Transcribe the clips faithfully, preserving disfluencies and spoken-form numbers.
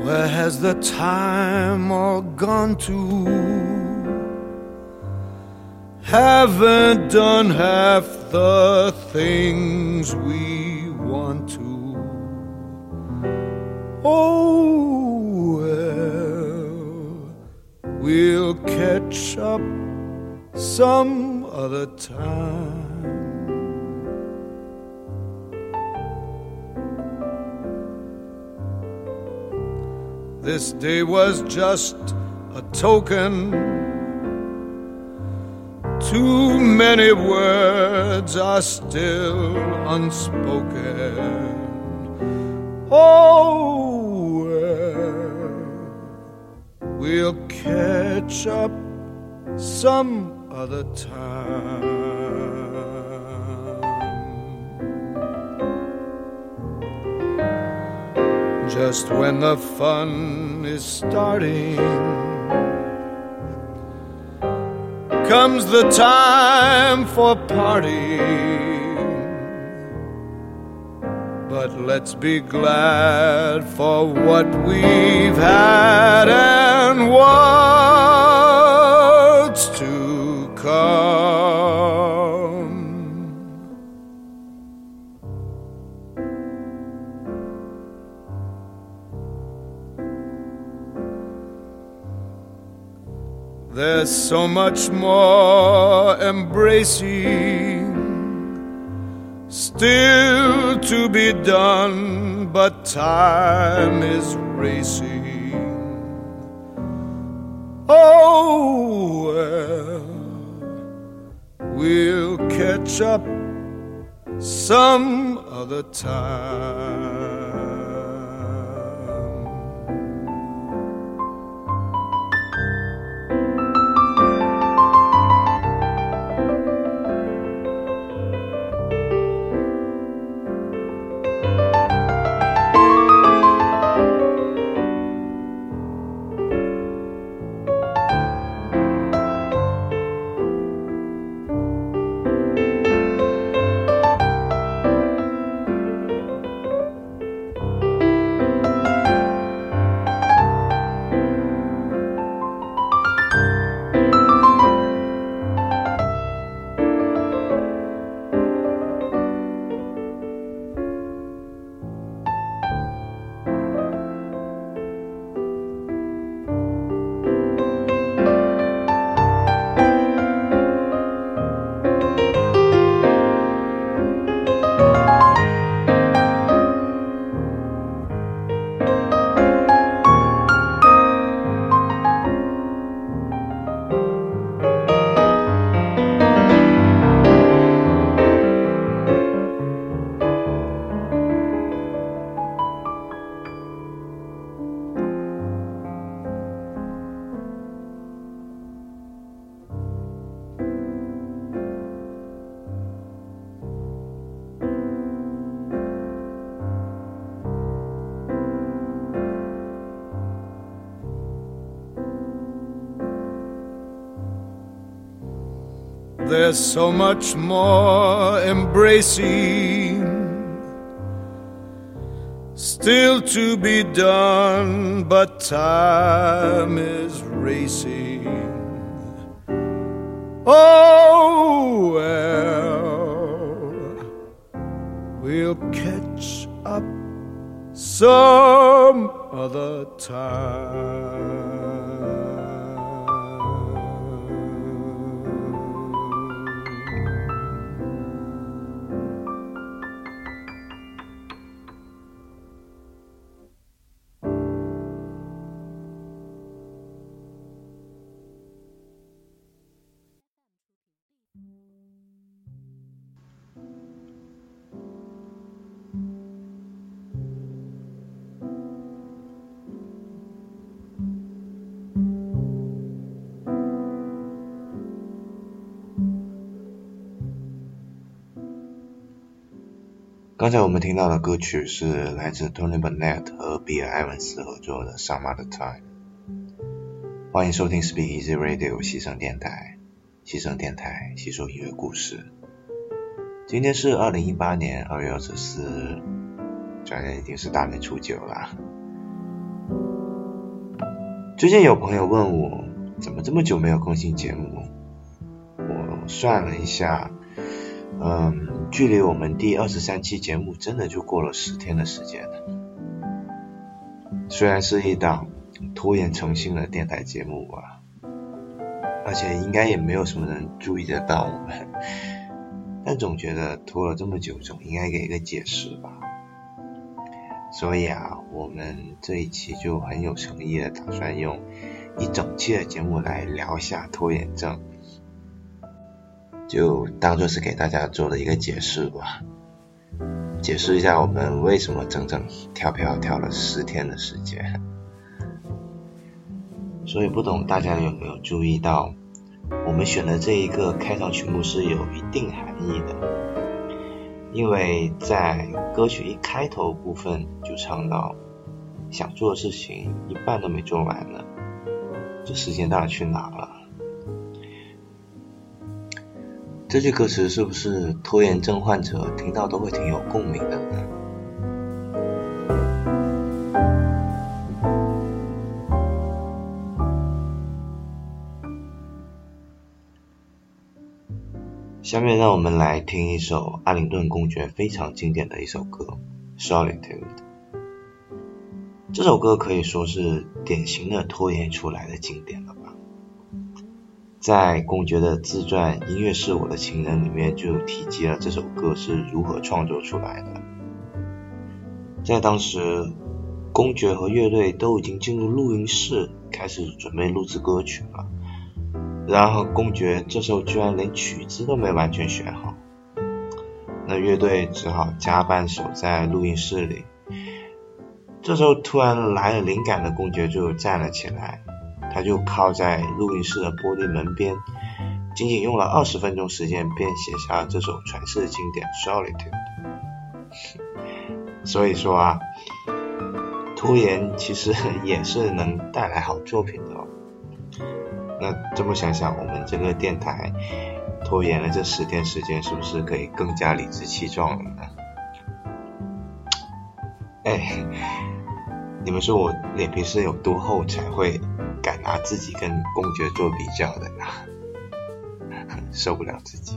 Where has the time all gone to? Haven't done half the things we want to. Oh, well, we'll catch up some other time. This day was just a token. Too many words are still unspoken. Oh, well, we'll catch up some other time. Just when the fun is starting, comes the time for parting. But let's be glad for what we've had and what's to come. There's so much more embracing still to be done, but time is racing. Oh, well, we'll catch up some other time. There's so much more embracing still to be done, but time is racing. Oh, well, we'll catch up some other time. 刚才我们听到的歌曲是来自 Tony Bennett 和比尔艾文斯合作的 Some Other Time。 欢迎收听 Speak Easy Radio 西声电台，西声电台细说音乐故事。今天是二零一八年二月二十四日，转眼已经是大年初九了。 最近有朋友问我，怎么这么久没有更新节目？我算了一下，嗯，距离我们第二十三期节目真的就过了十天的时间了。虽然是一档拖延成性的电台节目吧，而且应该也没有什么人注意得到我们，但总觉得拖了这么久，总应该给一个解释吧。所以啊，我们这一期就很有诚意的打算用一整期的节目来聊一下拖延症，就当作是给大家做了一个解释吧，解释一下我们为什么整整跳票跳了十天的时间。所以不懂大家有没有注意到，我们选的这一个开场曲目是有一定含义的，因为在歌曲一开头部分就唱到想做的事情一半都没做完呢，这时间到底去哪了？这句歌词是不是拖延症患者听到都会挺有共鸣的呢？下面让我们来听一首阿灵顿公爵非常经典的一首歌 Solitude。 这首歌可以说是典型的拖延出来的经典了吧。在公爵的自传《音乐是我的情人》里面就提及了这首歌是如何创作出来的。在当时，公爵和乐队都已经进入录音室开始准备录制歌曲了，然而公爵这时候居然连曲子都没完全选好，那乐队只好加班守在录音室里。这时候突然来了灵感的公爵就站了起来，他就靠在录音室的玻璃门边，仅仅用了二十分钟时间便写下了这首传世经典 Solitude。 所以说啊，拖延其实也是能带来好作品的哦。那这么想想，我们这个电台拖延了这十天时间，是不是可以更加理直气壮了呢？哎，你们说我脸皮是有多厚才会敢拿自己跟公爵做比较的呢？受不了自己。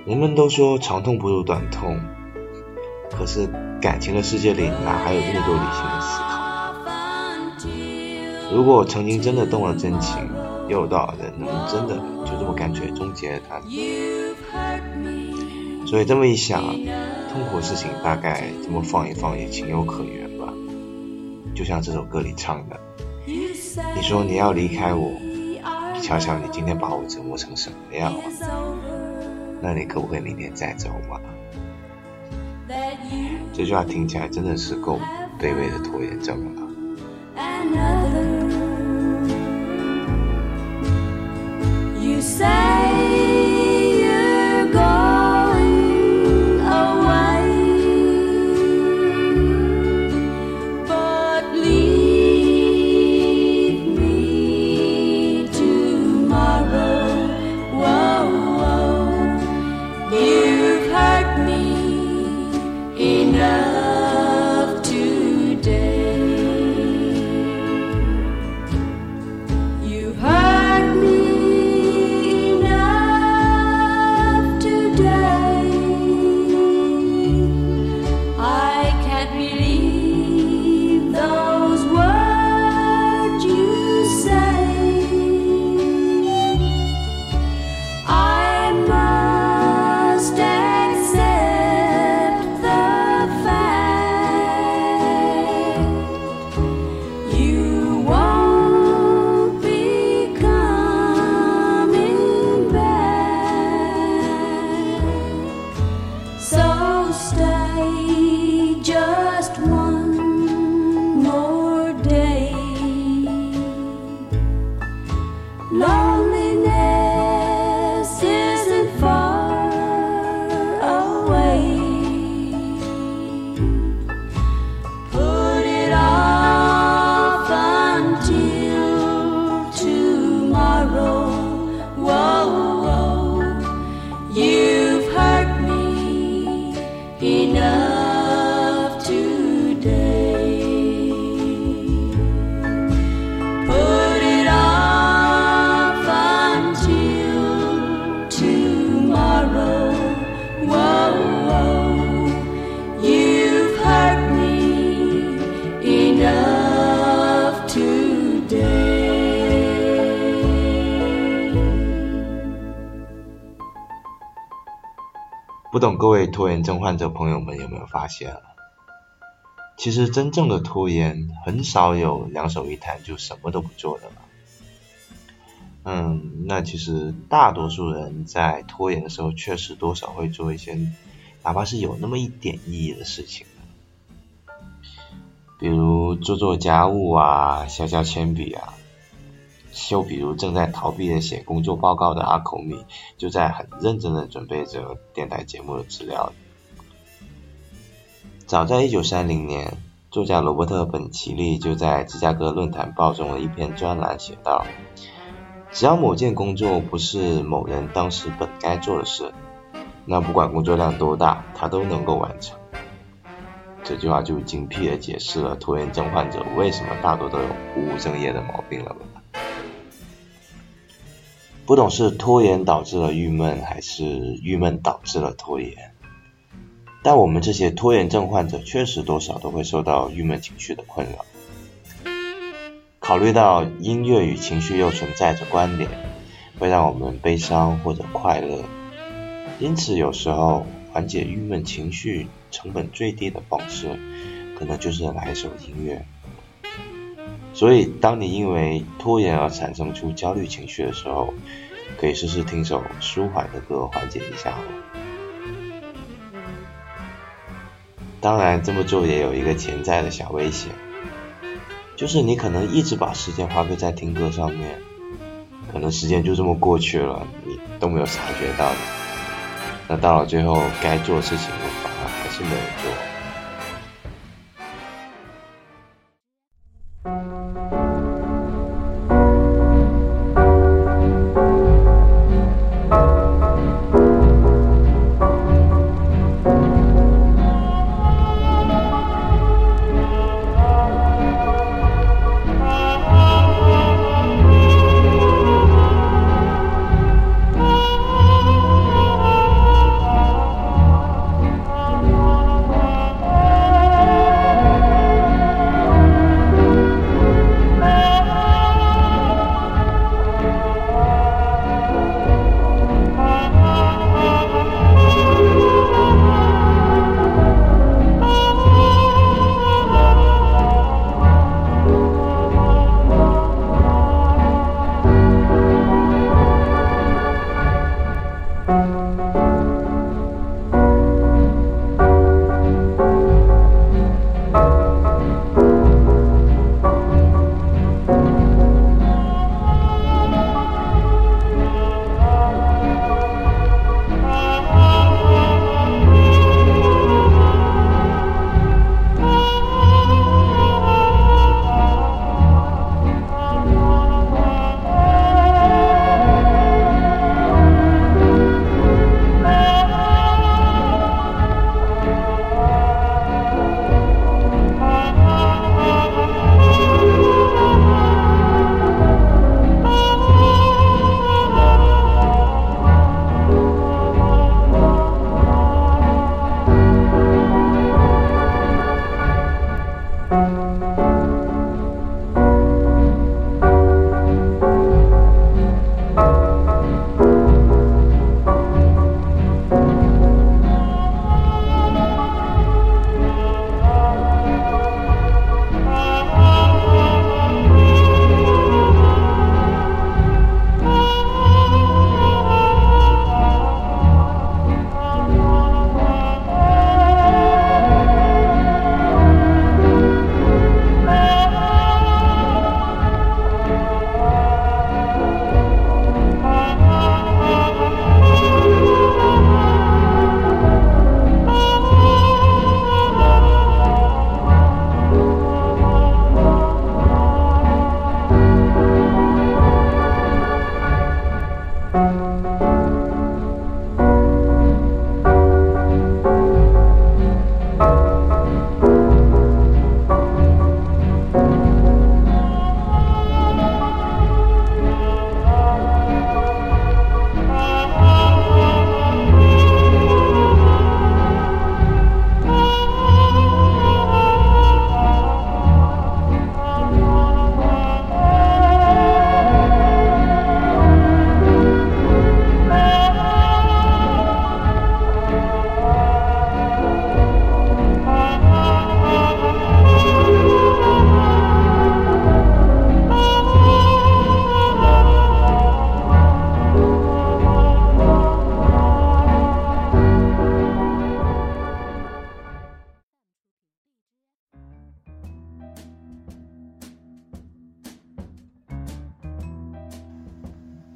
人们都说长痛不如短痛，可是感情的世界里哪还有这么多理性的思考？如果曾经真的动了真情，又有多少人能真的就这么干脆终结了它呢？所以这么一想，痛苦事情大概这么放一放也情有可原吧。就像这首歌里唱的，你说你要离开我，你瞧瞧你今天把我折磨成什么样了，那你可不可以明天再走嘛？这句话听起来真的是够卑微的拖延症了。You say you're going away, but leave me tomorrow. Whoa, whoa. You've hurt me enough today. You hurt me不懂各位拖延症患者朋友们有没有发现，其实真正的拖延很少有两手一摊就什么都不做的了。嗯，那其实大多数人在拖延的时候确实多少会做一些哪怕是有那么一点意义的事情，比如做做家务啊，削削铅笔啊，就比如正在逃避的写工作报告的阿口米，就在很认真的准备着电台节目的资料。早在一九三零年，作家罗伯特本奇利就在芝加哥论坛报中的一篇专栏写道，只要某件工作不是某人当时本该做的事，那不管工作量多大，他都能够完成。这句话就精辟地解释了拖延症患者为什么大多都有不务正业的毛病了吧。不懂是拖延导致了郁闷，还是郁闷导致了拖延，但我们这些拖延症患者确实多少都会受到郁闷情绪的困扰。考虑到音乐与情绪又存在着关联，会让我们悲伤或者快乐，因此有时候缓解郁闷情绪成本最低的方式，可能就是来一首音乐。所以当你因为拖延而产生出焦虑情绪的时候，可以试试听首舒缓的歌缓解一下。当然这么做也有一个潜在的小危险，就是你可能一直把时间花费在听歌上面，可能时间就这么过去了，你都没有察觉到的，那到了最后该做的事情反而还是没有做。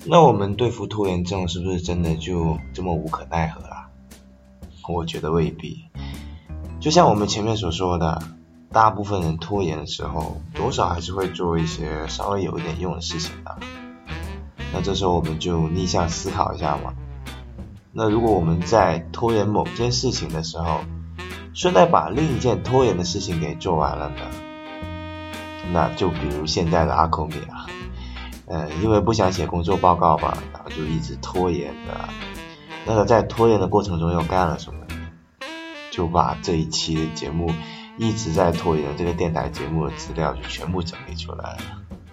那我们对付拖延症是不是真的就这么无可奈何啦？我觉得未必。就像我们前面所说的，大部分人拖延的时候，多少还是会做一些稍微有一点用的事情的。那这时候我们就逆向思考一下嘛。那如果我们在拖延某件事情的时候，顺带把另一件拖延的事情给做完了呢？那就比如现在的阿孔米啊，呃，因为不想写工作报告吧，然后就一直拖延的。那个在拖延的过程中又干了什么？就把这一期的节目一直在拖延的这个电台节目的资料就全部整理出来了。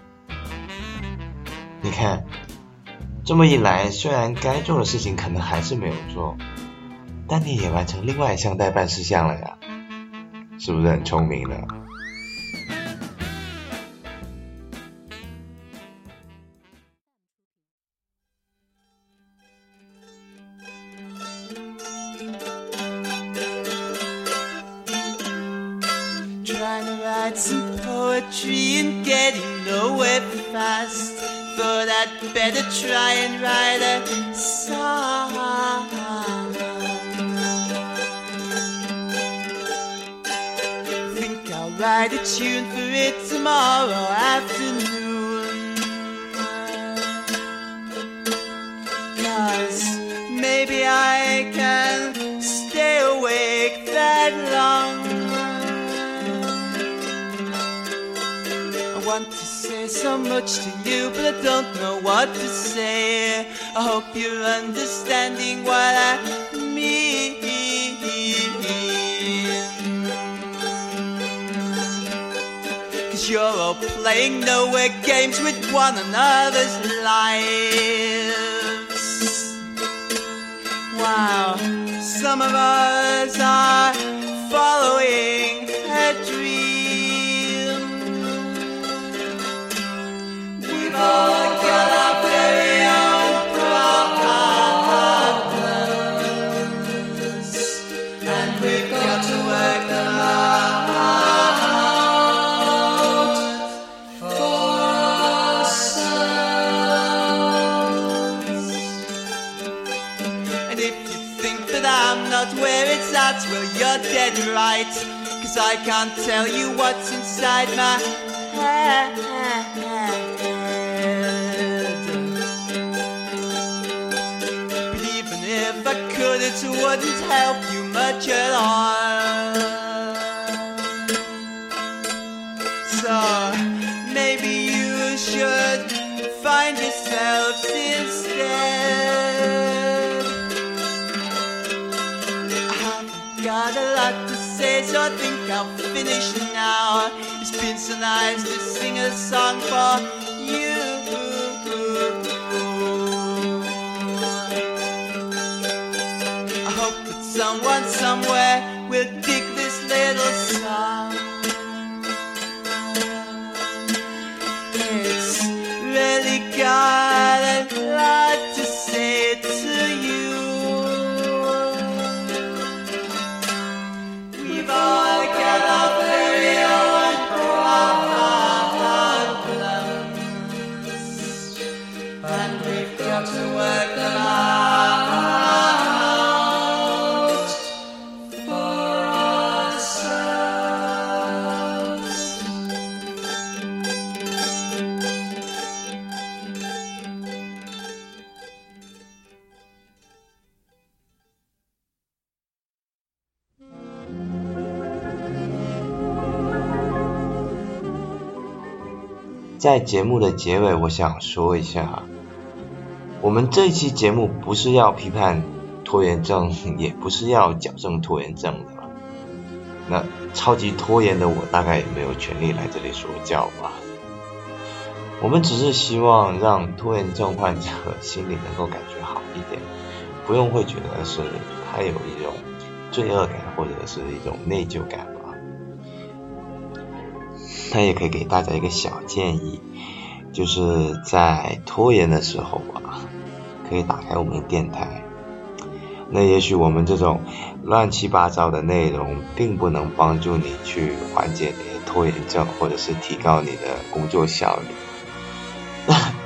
你看，这么一来，虽然该做的事情可能还是没有做，但你也完成另外一项待办事项了呀，是不是很聪明呢？ Some poetry and getting nowhere fast. Thought I'd better try and write a song. Think I'll write a tune for it tomorrow afternoon. 'Cause maybe I can stay awake that long. I want to say so much to you, but I don't know what to say. I hope you're understanding what I mean. 'Cause you're all playing nowhere games with one another's lives. Wow, some of us are following a dream. We've all got our very own problems, and we've got to work them out for ourselves. And if you think that I'm not where it's at, well, you're dead right, 'cause I can't tell you what's inside my head. If I could, it wouldn't help you much at all. So maybe you should find yourselves instead. I haven't got a lot to say, so I think I'll finish now. It's been so nice to sing a song for you. Someone somewhere will dig this little song. It's really got a lot to say to you. We've all got our very own problems, and we've got to work them out. 在节目的结尾，我想说一下，我们这一期节目不是要批判拖延症，也不是要矫正拖延症的。那超级拖延的我大概也没有权利来这里说教吧。我们只是希望让拖延症患者心里能够感觉好一点，不用会觉得是他有一种罪恶感或者是一种内疚感吧。那也可以给大家一个小建议，就是在拖延的时候啊，可以打开我们的电台。那也许我们这种乱七八糟的内容并不能帮助你去缓解你的拖延症，或者是提高你的工作效率。